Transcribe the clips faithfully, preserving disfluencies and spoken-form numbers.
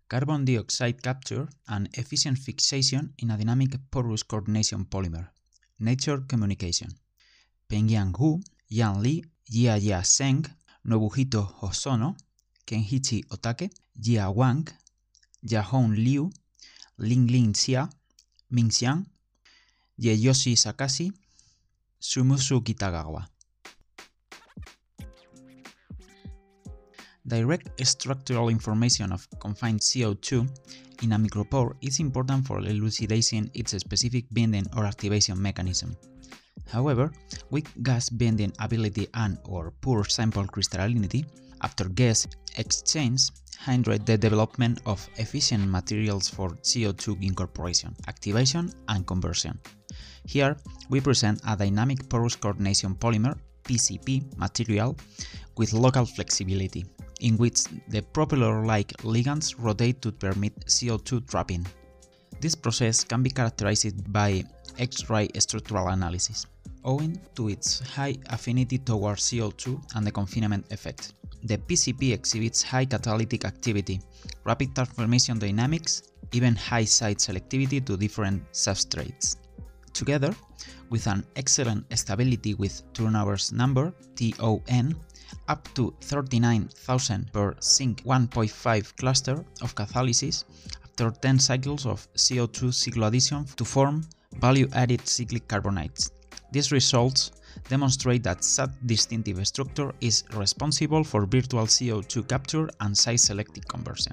carbon dioxide capture and efficient fixation in a dynamic porous coordination polymer. Nature Communication. Pengyang Hu, Yan Li, Jiajia Zheng, Nobuhito Hosono, Kenhichi Otake, Jia Wang, Yahong Liu, Linglin Xia, Mingxiang, Yeyoshi Sakashi, Sumusu Kitagawa. Direct structural information of confined C O two in a micropore is important for elucidating its specific bending or activation mechanism. However, weak gas bending ability and or poor sample crystallinity after gas exchange hinder the development of efficient materials for C O two incorporation, activation, and conversion. Here, we present a dynamic porous coordination polymer P C P material with local flexibility, in which the propeller-like ligands rotate to permit C O two trapping. This process can be characterized by X-ray structural analysis, owing to its high affinity towards C O two and the confinement effect. The P C P exhibits high catalytic activity, rapid transformation dynamics, even high site selectivity to different substrates. Together, with an excellent stability with turnovers number T O N up to thirty-nine thousand per zinc one point five cluster of catalysis after ten cycles of C O two cycloaddition to form value-added cyclic carbonides. These results demonstrate that such distinctive structure is responsible for virtual C O two capture and site-selective conversion.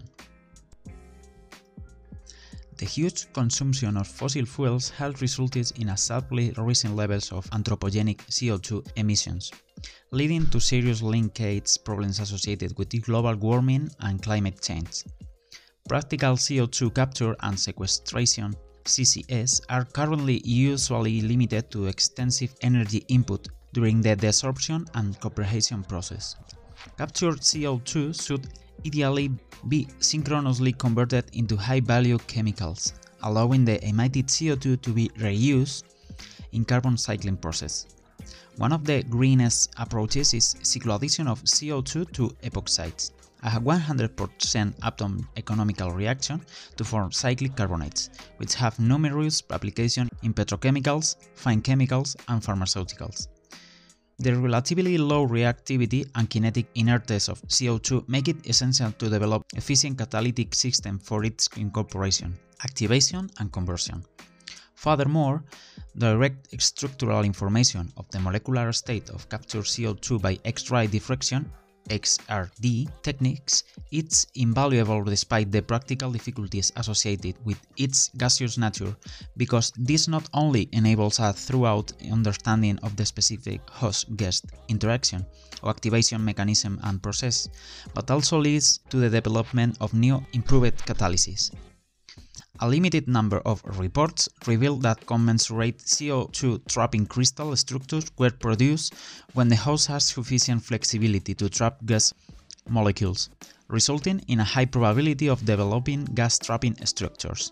The huge consumption of fossil fuels has resulted in a sharply rising levels of anthropogenic C O two emissions, leading to serious linkage problems associated with global warming and climate change. Practical C O two capture and sequestration C C S are currently usually limited to extensive energy input during the desorption and compression process. Captured C O two should ideally be synchronously converted into high-value chemicals, allowing the emitted C O two to be reused in carbon cycling process. One of the greenest approaches is cycloaddition of C O two to epoxides, a one hundred percent atom economical reaction to form cyclic carbonates, which have numerous applications in petrochemicals, fine chemicals, and pharmaceuticals. The relatively low reactivity and kinetic inertness of C O two make it essential to develop efficient catalytic system for its incorporation, activation, and conversion. Furthermore, direct structural information of the molecular state of captured C O two by X-ray diffraction X R D techniques is invaluable despite the practical difficulties associated with its gaseous nature, because this not only enables a thorough understanding of the specific host-guest interaction or activation mechanism and process, but also leads to the development of new improved catalysis. A limited number of reports reveal that commensurate C O two trapping crystal structures were produced when the host has sufficient flexibility to trap gas molecules, resulting in a high probability of developing gas trapping structures.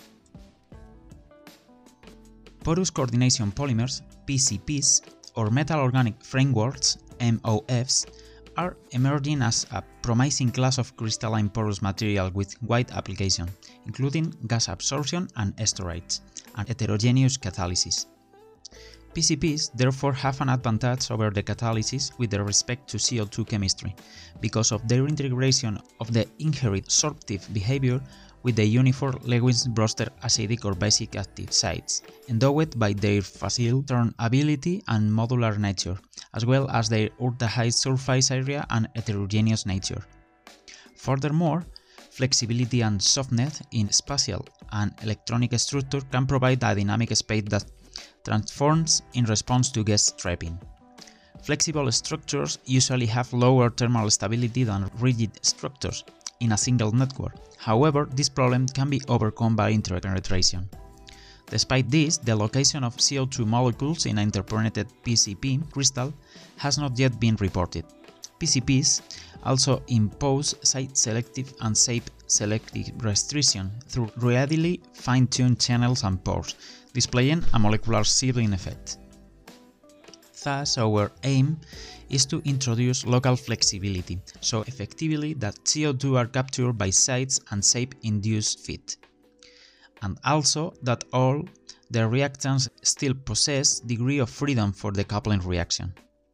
Porous coordination polymers, P C Ps, or metal organic frameworks, M O Fs, are emerging as a promising class of crystalline porous material with wide application, including gas absorption and storage, and heterogeneous catalysis. P C Ps therefore have an advantage over the catalysis with respect to C O two chemistry, because of their integration of the inherent sorptive behavior with the uniform Lewis-Brewster acidic or basic active sites, endowed by their facile turn ability and modular nature, as well as their ultra-high surface area and heterogeneous nature. Furthermore, flexibility and softness in spatial and electronic structure can provide a dynamic space that transforms in response to gas trapping. Flexible structures usually have lower thermal stability than rigid structures in a single network. However, this problem can be overcome by interpenetration. Despite this, the location of C O two molecules in an interpenetrated P C P crystal has not yet been reported. P C Ps also impose site-selective and shape-selective restriction through readily fine-tuned channels and pores, displaying a molecular sealing effect. Thus, our aim is to introduce local flexibility, so effectively that C O two are captured by sites and shape-induced fit, and also that all the reactants still possess degree of freedom for the coupling reaction.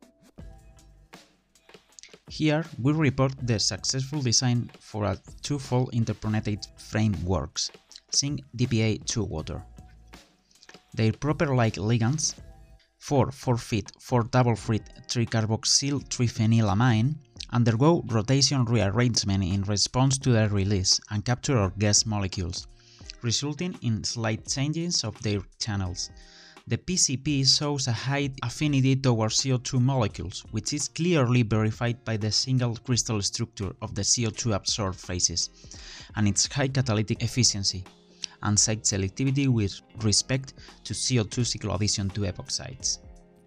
Here we report the successful design for a two-fold interpronated frameworks, zinc D P A two water. Their proper-like ligands, four four fit four double-frit tricarboxyl triphenylamine, undergo rotation rearrangement in response to their release and capture our guest molecules, resulting in slight changes of their channels. The P C P shows a high affinity towards C O two molecules, which is clearly verified by the single crystal structure of the C O two absorbed phases, and its high catalytic efficiency, and site selectivity with respect to C O two cycloaddition to epoxides.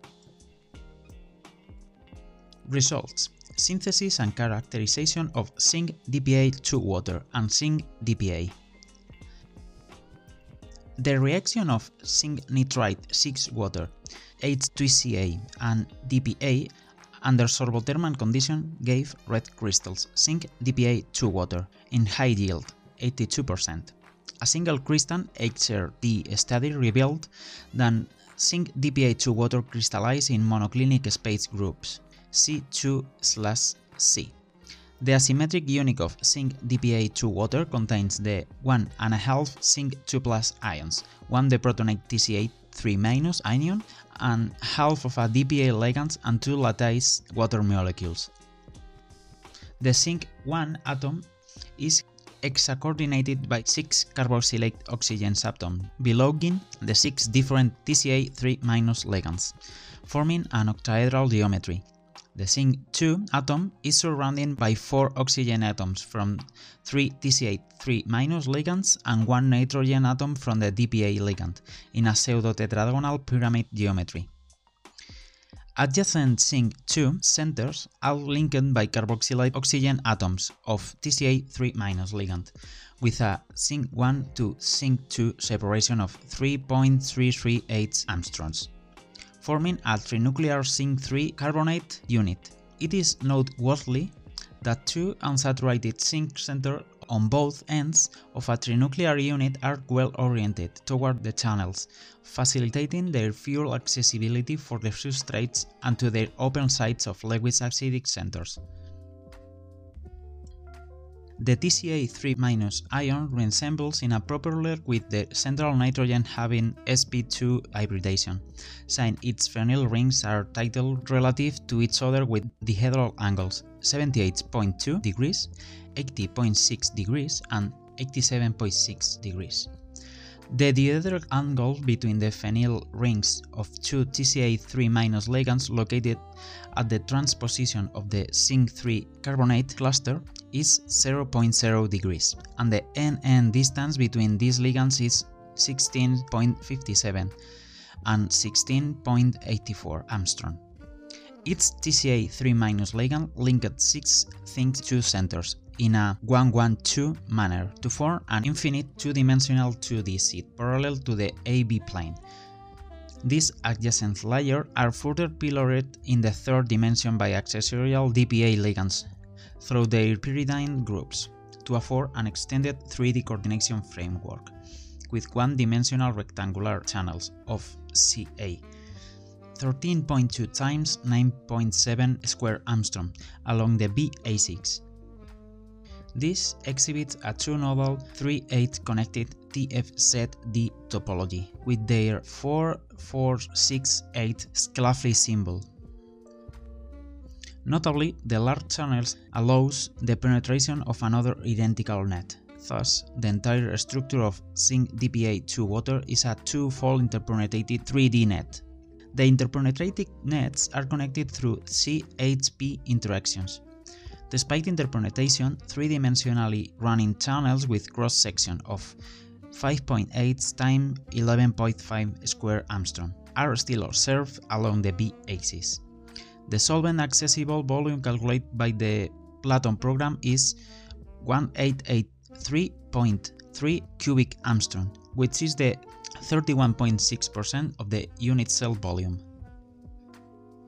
Results: synthesis and characterization of zinc D P A two water and zinc D P A. The reaction of zinc nitride six water, H two C A, and D P A under sorbothermal condition gave red crystals zinc D P A two water in high yield, eighty-two percent. A single crystal H R D study revealed that zinc D P A two water crystallized in monoclinic space groups C two slash C. The asymmetric unit of zinc D P A two water contains the one and a half zinc two plus ions, one the protonate T C A three minus ion, and half of a D P A ligand and two lattice water molecules. The zinc one atom is hexacoordinated by six carboxylate oxygen subatoms, belonging the six different T C A three minus ligands, forming an octahedral geometry. The zinc two atom is surrounded by four oxygen atoms from three T C A three minus ligands and one nitrogen atom from the D P A ligand in a pseudo-tetragonal pyramid geometry. Adjacent zinc two centers are linked by carboxylate oxygen atoms of T C A three minus ligand, with a zinc one to zinc two separation of three point three three eight angstroms, forming a trinuclear zinc three carbonate unit. It is noteworthy that two unsaturated zinc centers on both ends of a trinuclear unit are well oriented toward the channels, facilitating their fuel accessibility for the substrates and to their open sites of Lewis acidic centers. The T C A three minus ion resembles in a propeller with the central nitrogen having S p two hybridization, since its phenyl rings are titled relative to each other with dihedral angles seventy-eight point two degrees, eighty point six degrees, and eighty-seven point six degrees. The dihedral angle between the phenyl rings of two T C A three minus ligands located at the transposition of the zinc three carbonate cluster is zero point zero degrees, and the N N distance between these ligands is sixteen point five seven and sixteen point eight four angstrom. Each T C A three minus ligand linked six zinc two centers in a one one two manner to form an infinite two-dimensional two D sheet parallel to the A B plane. These adjacent layers are further pillared in the third dimension by accessorial D P A ligands through their pyridine groups to afford an extended three D coordination framework with one-dimensional rectangular channels of C A, thirteen point two times nine point seven square angstrom along the B A six. This exhibits a two-nodal three eight connected T F Z D topology with their four four six eight Sclafly symbol. Notably, the large channels allows the penetration of another identical net. Thus, the entire structure of zinc D P A two water is a two-fold interpenetrated three D net. The interpenetrated nets are connected through C H P interactions. Despite interpenetration, three-dimensionally running channels with cross-section of five point eight times eleven point five square angstrom are still observed along the B axis. The solvent accessible volume calculated by the Platon program is one thousand eight hundred eighty-three point three cubic angstrom, which is the thirty-one point six percent of the unit cell volume.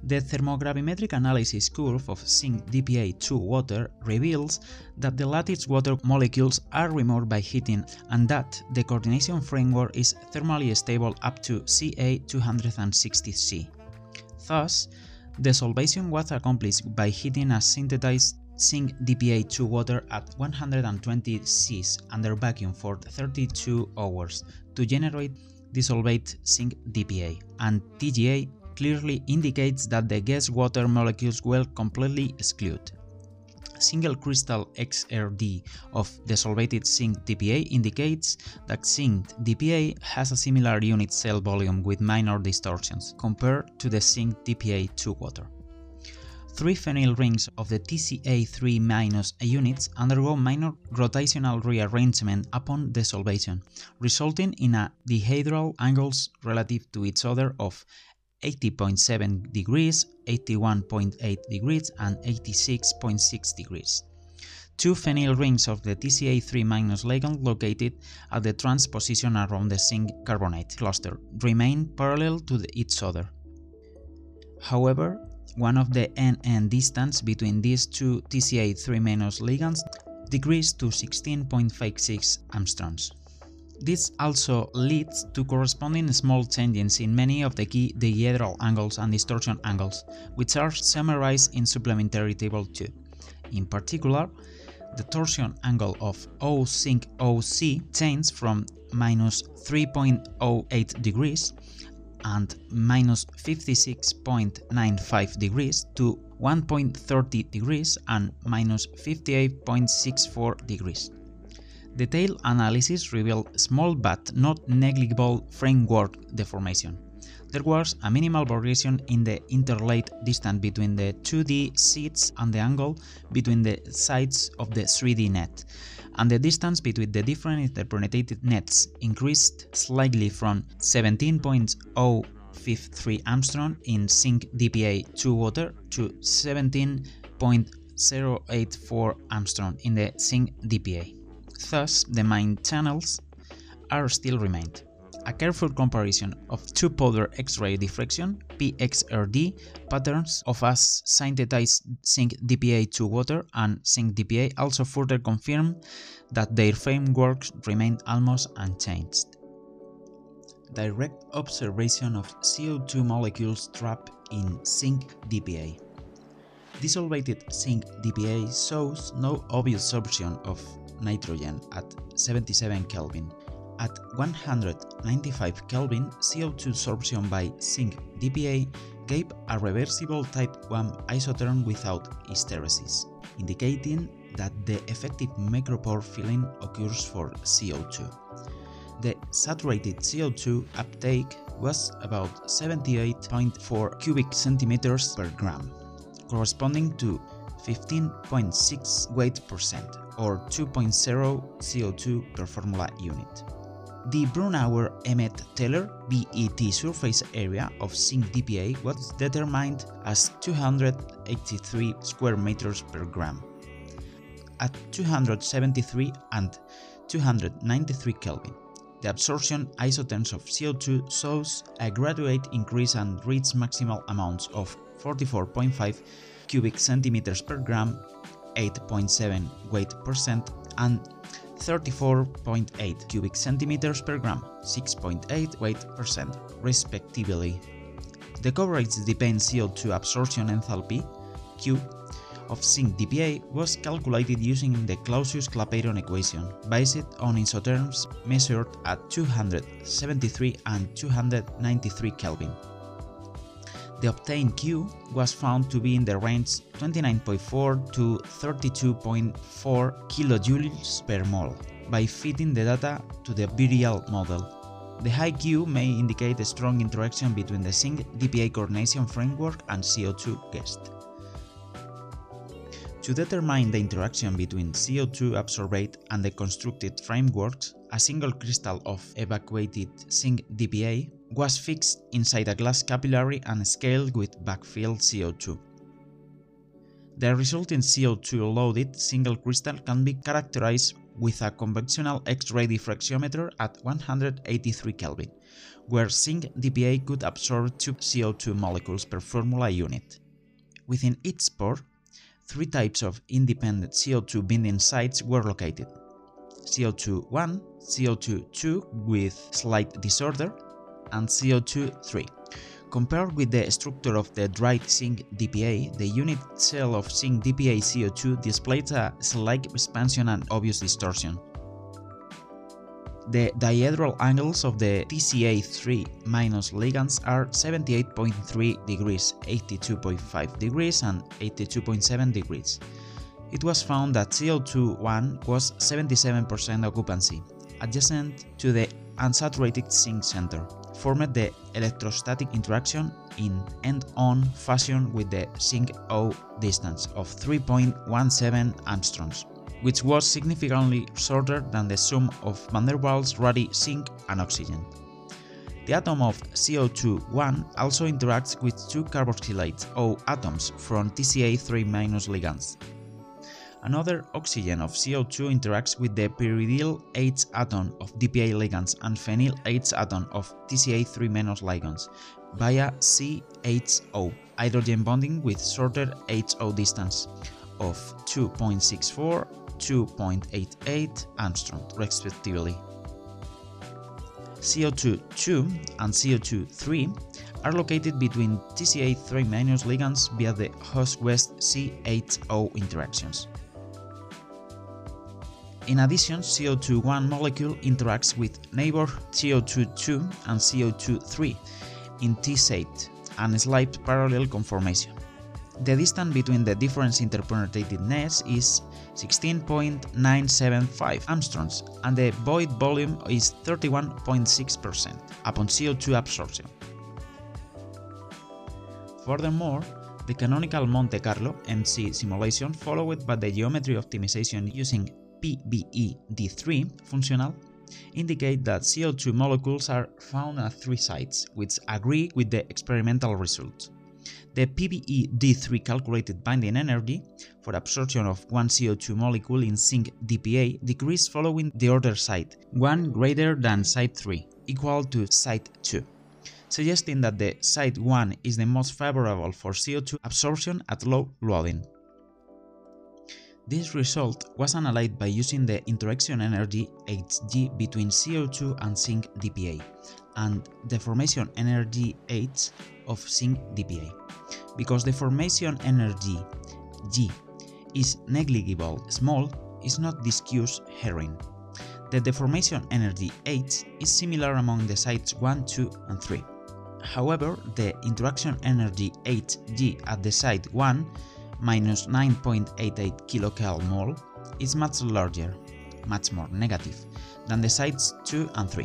The thermogravimetric analysis curve of zinc D P A two water reveals that the lattice water molecules are removed by heating and that the coordination framework is thermally stable up to C A two hundred sixty C. Thus, the solvation was accomplished by heating a synthesized zinc D P A two water at one hundred twenty Celsius under vacuum for thirty-two hours to generate dissolved zinc D P A, and T G A clearly indicates that the guest water molecules were completely excluded. Single crystal X R D of dissolved zinc D P A indicates that zinc D P A has a similar unit cell volume with minor distortions compared to the zinc D P A two water. Three phenyl rings of the T C A three minus units undergo minor rotational rearrangement upon desolvation, resulting in a dihedral angles relative to each other of eighty point seven degrees, eighty-one point eight degrees, and eighty-six point six degrees. Two phenyl rings of the T C A three minus ligand located at the trans position around the zinc carbonate cluster remain parallel to the, each other. However, one of the N N distance between these two T C A three minus ligands decreased to sixteen point five six angstroms. This also leads to corresponding small changes in many of the key dihedral angles and distortion angles, which are summarized in supplementary table two. In particular, the torsion angle of O zinc O C changed from minus three point zero eight degrees and minus fifty-six point nine five degrees to one point three zero degrees and minus fifty-eight point six four degrees. Detailed analysis revealed small but not negligible framework deformation. There was a minimal variation in the interlaid distance between the two D sheets and the angle between the sides of the three D net, and the distance between the different interpreted nets increased slightly from seventeen point zero five three angstrom in zinc D P A two water to seventeen point zero eight four angstrom in the zinc D P A. Thus, the main channels are still remained. A careful comparison of two powder X-ray diffraction (P X R D) patterns of a synthesized zinc D P A two water and zinc D P A also further confirmed that their frameworks remain almost unchanged. Direct observation of C O two molecules trapped in zinc D P A. Dissolved zinc D P A shows no obvious absorption of nitrogen at seventy-seven Kelvin. At one hundred ninety-five Kelvin, C O two absorption by zinc D P A gave a reversible type one isotherm without hysteresis, indicating that the effective micropore filling occurs for C O two. The saturated C O two uptake was about seventy-eight point four cubic centimeters per gram, corresponding to fifteen point six weight percent or two point zero C O two per formula unit. The Brunauer-Emmett-Teller B E T surface area of zinc D P A was determined as two hundred eighty-three square meters per gram. At two hundred seventy-three and two hundred ninety-three Kelvin, the absorption isotherms of C O two shows a graduate increase and reach maximal amounts of forty-four point five cubic centimeters per gram, eight point seven weight percent, and thirty-four point eight cubic centimeters per gram, six point eight weight percent, respectively. The coverage-dependent C O two absorption enthalpy, Q, of zinc D P A was calculated using the Clausius-Clapeyron equation, based on isotherms measured at two hundred seventy-three and two hundred ninety-three Kelvin. The obtained Q was found to be in the range twenty-nine point four to thirty-two point four kilojoules per mole by fitting the data to the virial model. The high Q may indicate a strong interaction between the zinc D P A coordination framework and C O two guest. To determine the interaction between C O two absorbate and the constructed frameworks, a single crystal of evacuated zinc D P A was fixed inside a glass capillary and scaled with backfilled C O two. The resulting C O two loaded single crystal can be characterized with a conventional X-ray diffractiometer at one hundred eighty-three Kelvin, where zinc D P A could absorb two C O two molecules per formula unit. Within each spore, three types of independent C O two binding sites were located: C O two one, C O two two with slight disorder, and C O two three. Compared with the structure of the dried zinc D P A, the unit cell of zinc D P A C O two displays a slight expansion and obvious distortion. The dihedral angles of the T C A three minus ligands are seventy-eight point three degrees, eighty-two point five degrees, and eighty-two point seven degrees. It was found that C O two one was seventy-seven percent occupancy, adjacent to the unsaturated zinc center, formed the electrostatic interaction in end-on fashion with the zinc O distance of three point one seven angstroms, which was significantly shorter than the sum of van der Waals, Rayleigh, zinc, and oxygen. The atom of C O two one also interacts with two carboxylate O atoms from T C A three minus ligands. Another oxygen of C O two interacts with the pyridyl H atom of D P A ligands and phenyl H atom of T C A three minus ligands via C H O, hydrogen bonding with shorter H O distance of two point six four, two point eight eight angstrom respectively. C O two two and C O two three are located between T C A three minus ligands via the host-west C H O interactions. In addition, C O two one molecule interacts with neighbor C O two two and C O two three in T-state and slight parallel conformation. The distance between the different interpenetrated nets is sixteen point nine seven five angstroms and the void volume is thirty-one point six percent upon C O two absorption. Furthermore, the canonical Monte Carlo M C simulation, followed by the geometry optimization using P B E D three functional, indicate that C O two molecules are found at three sites, which agree with the experimental results. The P B E D three calculated binding energy for absorption of one C O two molecule in zinc D P A decreased following the order site, one greater than site three, equal to site two, suggesting that the site one is the most favorable for C O two absorption at low loading. This result was analyzed by using the interaction energy H G between C O two and zinc D P A and the formation energy H of zinc D P A. Because the formation energy G is negligible small, is not discussed herein. The deformation energy H is similar among the sites one, two, and three. However, the interaction energy H G at the site one minus nine point eight eight kilocalmol is much larger, much more negative, than the sites two and three.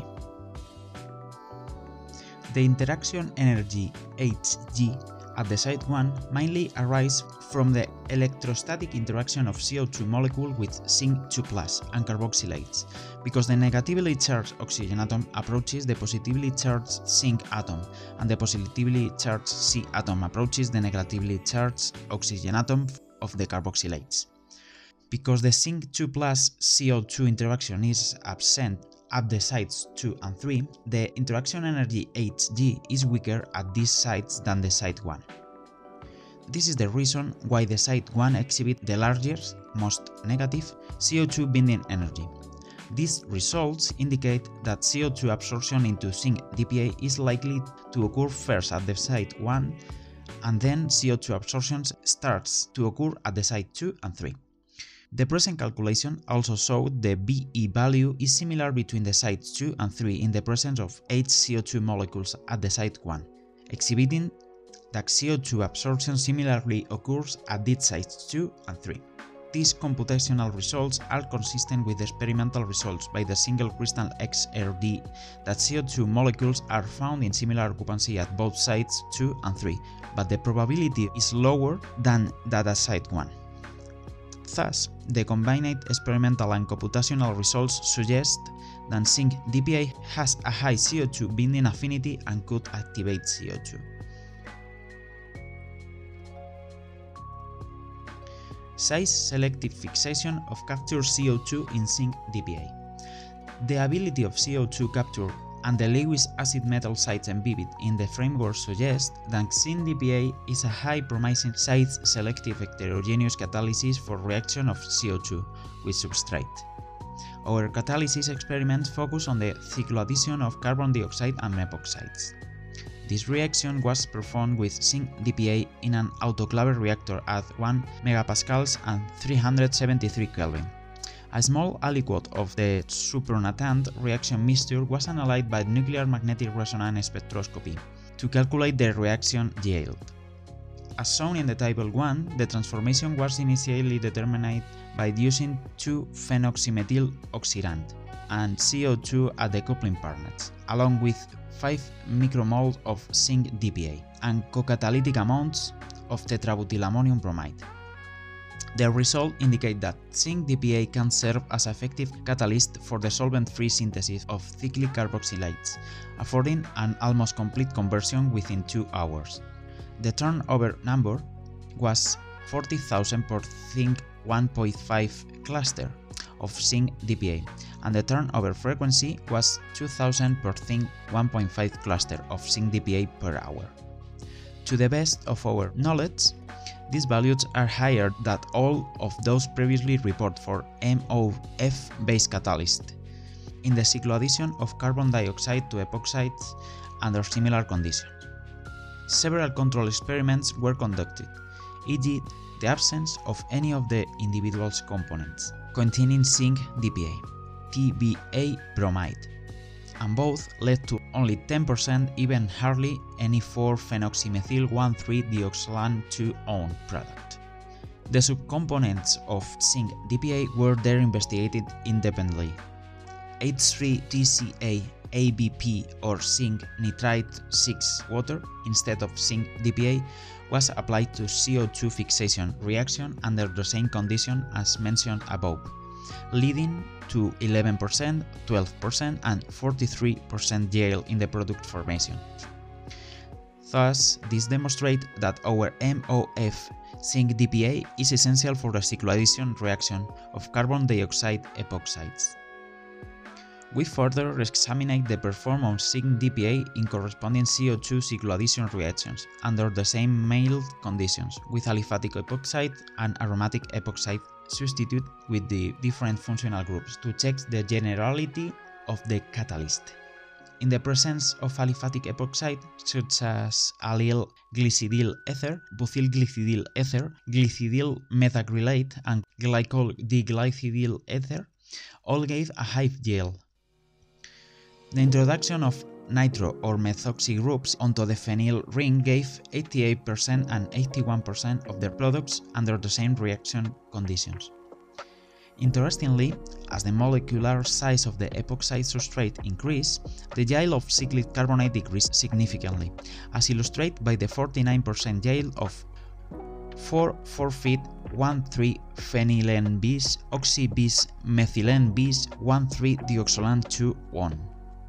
The interaction energy H G at the site one mainly arises from the electrostatic interaction of C O two molecule with zinc two plus and carboxylates, because the negatively charged oxygen atom approaches the positively charged zinc atom, and the positively charged C atom approaches the negatively charged oxygen atom of the carboxylates. Because the zinc two plus C O two interaction is absent at the sites two and three, the interaction energy H G is weaker at these sites than the site one. This is the reason why the site one exhibits the largest, most negative, C O two binding energy. These results indicate that C O two absorption into zinc D P A is likely to occur first at the site one, and then C O two absorption starts to occur at the site two and three. The present calculation also showed the B E value is similar between the sites two and three in the presence of eight C O two molecules at the site one, exhibiting that C O two absorption similarly occurs at these sites two and three. These computational results are consistent with the experimental results by the single crystal X R D that C O two molecules are found in similar occupancy at both sites two and three, but the probability is lower than that at site one. Thus, the combined experimental and computational results suggest that zinc D P A has a high C O two binding affinity and could activate C O two. size-selective fixation of captured C O two in zinc D P A. The ability of C O two capture and the Lewis acid metal sites embedded in the framework suggest that zinc D P A is a high-promising size-selective heterogeneous catalysis for reaction of C O two with substrate. Our catalysis experiments focus on the cycloaddition of carbon dioxide and epoxides. This reaction was performed with zinc D P A in an autoclave reactor at one megapascals and three hundred seventy-three Kelvin. A small aliquot of the supernatant reaction mixture was analyzed by nuclear magnetic resonance spectroscopy to calculate the reaction yield. As shown in the table one, the transformation was initially determined by using two phenoxymethyl oxyrand and C O two at the coupling partners, along with five micromole of zinc D P A and co-catalytic amounts of tetrabutylammonium bromide. The result indicates that zinc D P A can serve as an effective catalyst for the solvent-free synthesis of cyclic carboxylates, affording an almost complete conversion within two hours. The turnover number was forty thousand per zinc one point five cluster of zinc D P A, and the turnover frequency was two thousand per zinc one point five cluster of zinc D P A per hour. To the best of our knowledge, these values are higher than all of those previously reported for M O F-based catalysts in the cycloaddition of carbon dioxide to epoxides under similar conditions. Several control experiments were conducted, for example the absence of any of the individual components containing zinc D P A, T B A bromide, and both led to only ten percent, even hardly any four phenoxymethyl one three dioxolan two own product. The subcomponents of zinc D P A were there investigated independently. H three T C A A B P or zinc nitrite six water instead of zinc D P A was applied to C O two fixation reaction under the same condition as mentioned above, leading to eleven percent, twelve percent and forty-three percent yield in the product formation. Thus, this demonstrates that our M O F zinc D P A is essential for the cycloaddition reaction of carbon dioxide epoxides. We further examined the performance of zinc D P A in corresponding C O two cycloaddition reactions under the same mild conditions with aliphatic epoxide and aromatic epoxide substitute with the different functional groups to check the generality of the catalyst. In the presence of aliphatic epoxide such as allyl glycidyl ether, butyl glycidyl ether, glycidyl methacrylate and glycol diglycidyl ether, all gave a high yield. The introduction of nitro or methoxy groups onto the phenyl ring gave eighty-eight percent and eighty-one percent of their products under the same reaction conditions. Interestingly, as the molecular size of the epoxide substrate increased, the yield of cyclic carbonate decreased significantly, as illustrated by the forty-nine percent yield of four four feet one three phenylene bis oxy bis methylene bis one three dioxolan two one.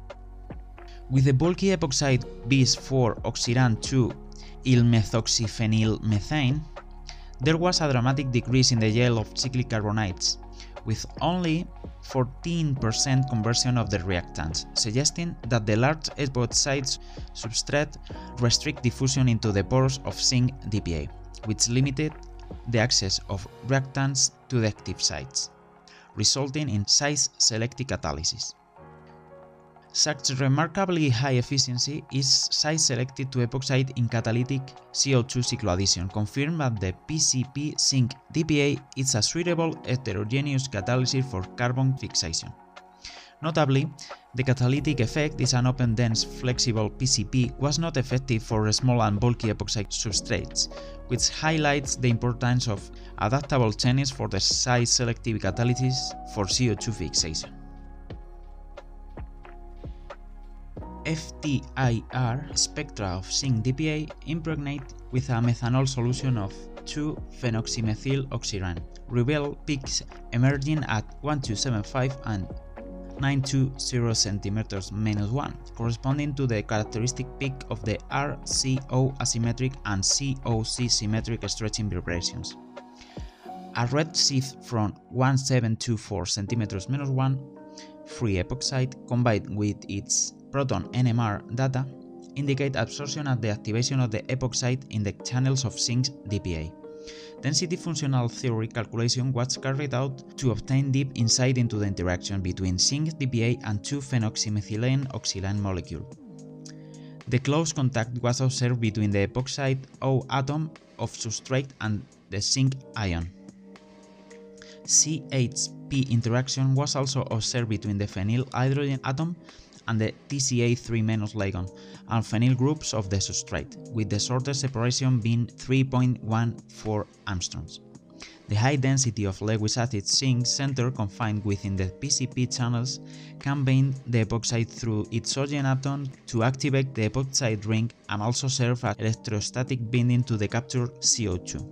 With the bulky epoxide bis four oxyran two yl methoxyphenyl methane, there was a dramatic decrease in the yield of cyclic carbonates, with only fourteen percent conversion of the reactants, suggesting that the large epoxide substrate restrict diffusion into the pores of zinc D P A, which limited the access of reactants to the active sites, resulting in size-selective catalysis. Such remarkably high efficiency is size-selective to epoxide in catalytic C O two cycloaddition, confirmed that the P C P zinc D P A is a suitable heterogeneous catalyst for carbon fixation. Notably, the catalytic effect is an open dense flexible P C P was not effective for small and bulky epoxide substrates, which highlights the importance of adaptable techniques for the size-selective catalysis for C O two fixation. F T I R spectra of zinc D P A impregnate with a methanol solution of two phenoxymethyl oxyran reveal peaks emerging at one two seven five and nine two zero centimeters minus one, corresponding to the characteristic peak of the R C O asymmetric and C O C symmetric stretching vibrations. A red sheath from one seven two four centimeters minus one free epoxide combined with its proton N M R data indicate absorption at the activation of the epoxide in the channels of zinc D P A. Density functional theory calculation was carried out to obtain deep insight into the interaction between zinc D P A and two phenoxymethylene oxyline molecule. The close contact was observed between the epoxide O atom of substrate and the zinc ion. C H P interaction was also observed between the phenyl hydrogen atom and the T C A three minus ligand and phenyl groups of the substrate, with the shortest separation being three point one four angstroms. The high density of Lewis acid zinc center confined within the P C P channels can bind the epoxide through its oxygen atom to activate the epoxide ring and also serve as electrostatic binding to the captured C O two.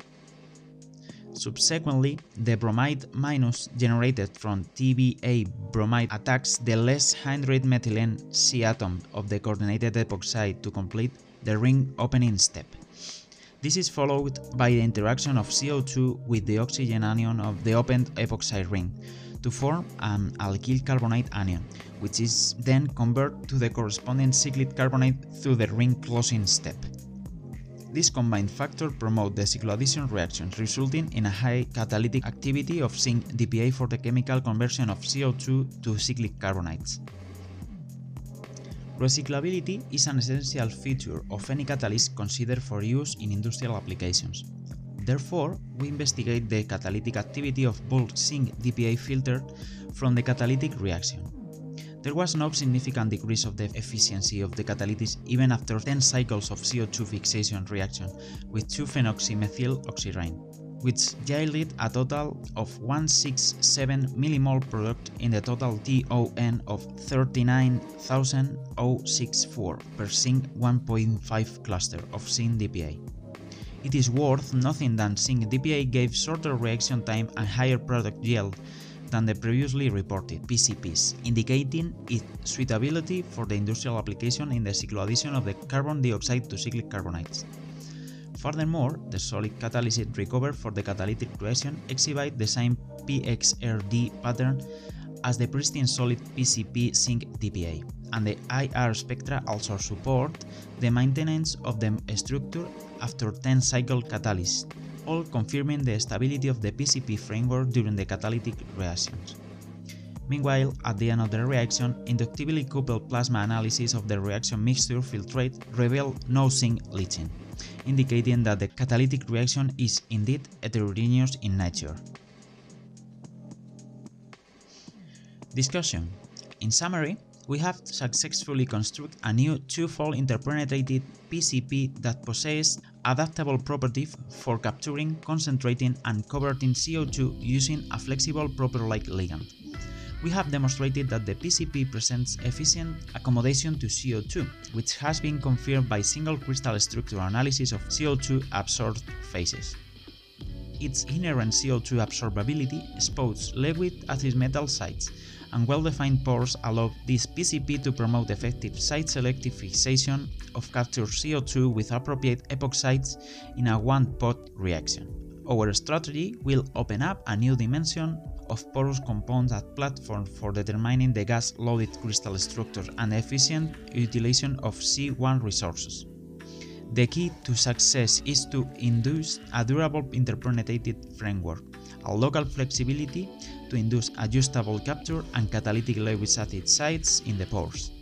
Subsequently, the bromide minus generated from T B A bromide attacks the less hydride methylene C atom of the coordinated epoxide to complete the ring opening step. This is followed by the interaction of C O two with the oxygen anion of the opened epoxide ring to form an alkyl carbonate anion, which is then converted to the corresponding cyclic carbonate through the ring closing step. This combined factor promotes the cycloaddition reactions, resulting in a high catalytic activity of zinc D P A for the chemical conversion of C O two to cyclic carbonates. Recyclability is an essential feature of any catalyst considered for use in industrial applications. Therefore, we investigate the catalytic activity of bulk zinc D P A filtered from the catalytic reaction. There was no significant decrease of the efficiency of the catalyst even after ten cycles of C O two fixation reaction with two phenoxymethyl oxyrene, which yielded a total of one hundred sixty-seven millimole product in the total T O N of thirty-nine thousand sixty-four per zinc one point five cluster of zinc D P A. It is worth noting that zinc D P A gave shorter reaction time and higher product yield than the previously reported P C Ps, indicating its suitability for the industrial application in the cycloaddition of the carbon dioxide to cyclic carbonates. Furthermore, the solid catalyst recovered for the catalytic reaction exhibit the same P X R D pattern as the pristine solid P C P zinc D P A, and the I R spectra also support the maintenance of the structure after ten cycle catalyst, all confirming the stability of the P C P framework during the catalytic reactions. Meanwhile, at the end of the reaction, inductively coupled plasma analysis of the reaction mixture filtrate revealed no zinc leaching, indicating that the catalytic reaction is indeed heterogeneous in nature. Discussion. In summary, we have successfully constructed a new two-fold interpenetrated P C P that possesses adaptable properties for capturing, concentrating, and converting C O two using a flexible proper-like ligand. We have demonstrated that the P C P presents efficient accommodation to C O two, which has been confirmed by single crystal structure analysis of C O two absorbed phases. Its inherent C O two absorbability exposes Lewis acid metal sites, and well-defined pores allow this P C P to promote effective site-selective fixation of captured C O two with appropriate epoxides in a one-pot reaction. Our strategy will open up a new dimension of porous compounds as platform for determining the gas-loaded crystal structure and efficient utilization of C one resources. The key to success is to induce a durable interpenetrated framework, a local flexibility to induce adjustable capture and catalytic Lewis acid sites in the pores.